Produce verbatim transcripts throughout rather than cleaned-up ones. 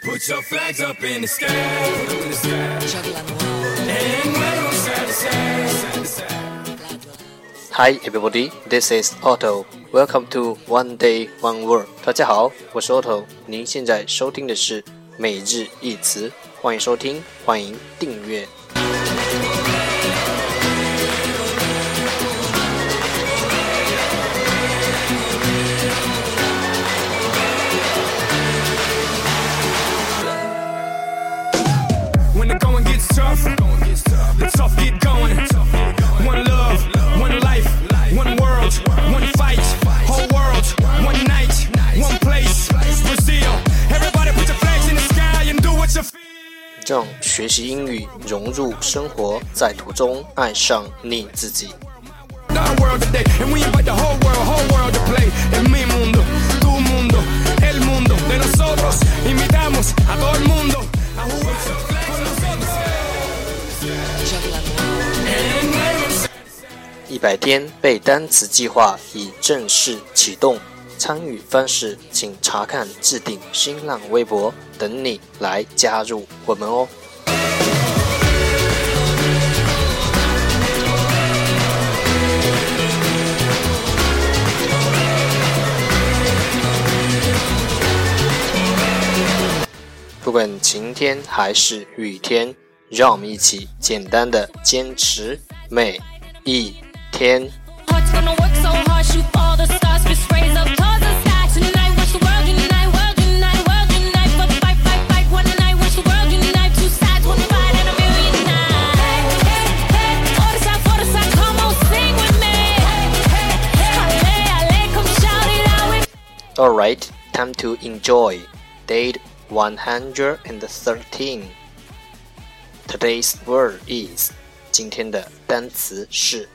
Put your flags up in the sky, put them in the sky. And wave side to side, side to side. Hi everybody, this is Otto. Welcome to One Day One Word. 大家好，我是 Otto。您现在收听的是每日一词，欢迎收听，欢迎订阅。 When the going gets tough, the tough get going. One love, one life, one world, one fight. Whole world, one night, one place. Brazil, everybody put your flags in the sky and do what you feel. 让学习英语融入生活，在途中爱上你自己。 Our world today, and we invite the whole world, whole world to play. En mi mundo, tu mundo, el mundo de nosotros. Invitamos a todo el mundo a jugar. 一百天背单词计划已正式启动，参与方式请查看置顶新浪微博，等你来加入我们哦。不管晴天还是雨天，让我们一起简单的坚持每一天。Alright, time to enjoy. Date one hundred thirteen. Today's word is 今天的单词是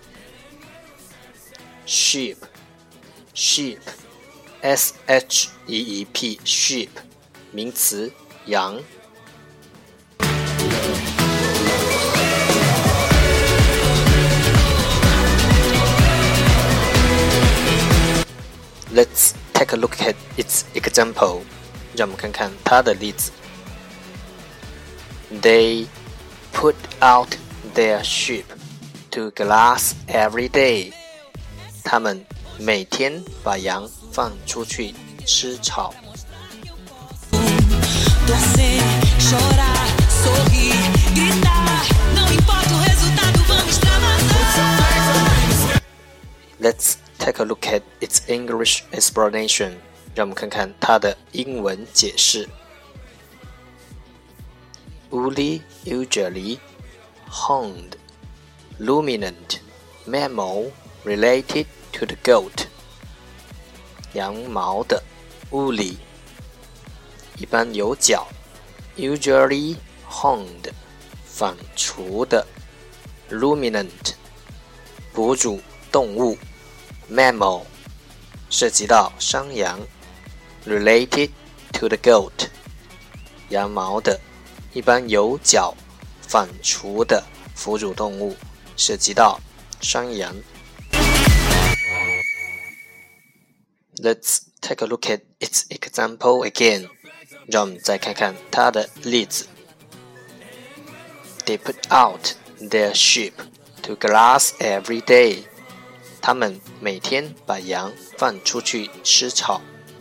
sheep, sheep, S H E E P, sheep, 名词羊。Let's take a look at its example. 让我们看看它的例子。They put out their sheep to grass every day. 他们每天把羊放出去吃草。Let's take a look at its English explanation. 让我们看看它的英文解释。Woolly, usually horned, luminant mammal related to the goat. 羊毛的 woolly 一般有角 usually horned 反刍的 luminant 哺乳动物 mammal 涉及到山羊 related to the goat 羊毛的一般有角反刍的哺乳动物，涉及到山羊。Let's take a look at its example again. 让我们再看看它的例子。They put out their sheep to grass every day. 他们每天把羊放出去吃草。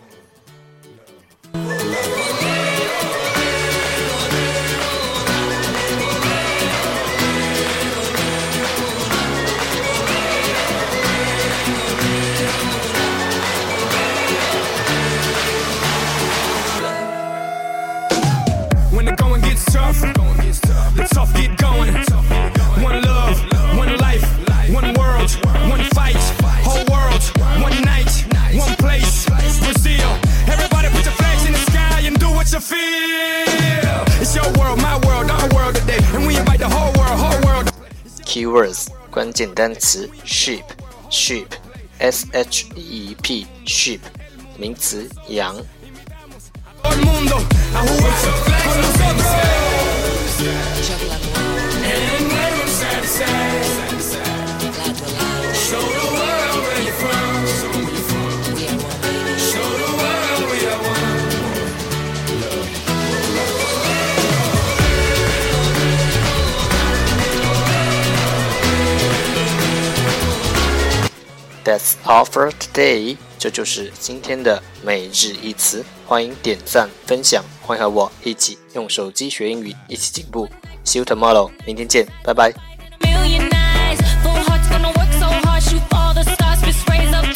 The tough get going. One love, one life, one world, one fight. Whole world, one night, one place. Brazil, everybody put your flags in the sky and do what you feel. It's your world, my world, our world today, and we invite the whole world, whole world. Keywords 关键单词 sheep, sheep, S H E E P, sheep 名词羊。 Todo el mundo a jugar con nosotros. And wave side to side. Show the world where you're from. Show the world we are one. That's all for today. 这就是今天的每日一词。欢迎点赞分享，欢迎和我一起用手机学英语，一起进步。See you tomorrow. 明天见，拜拜。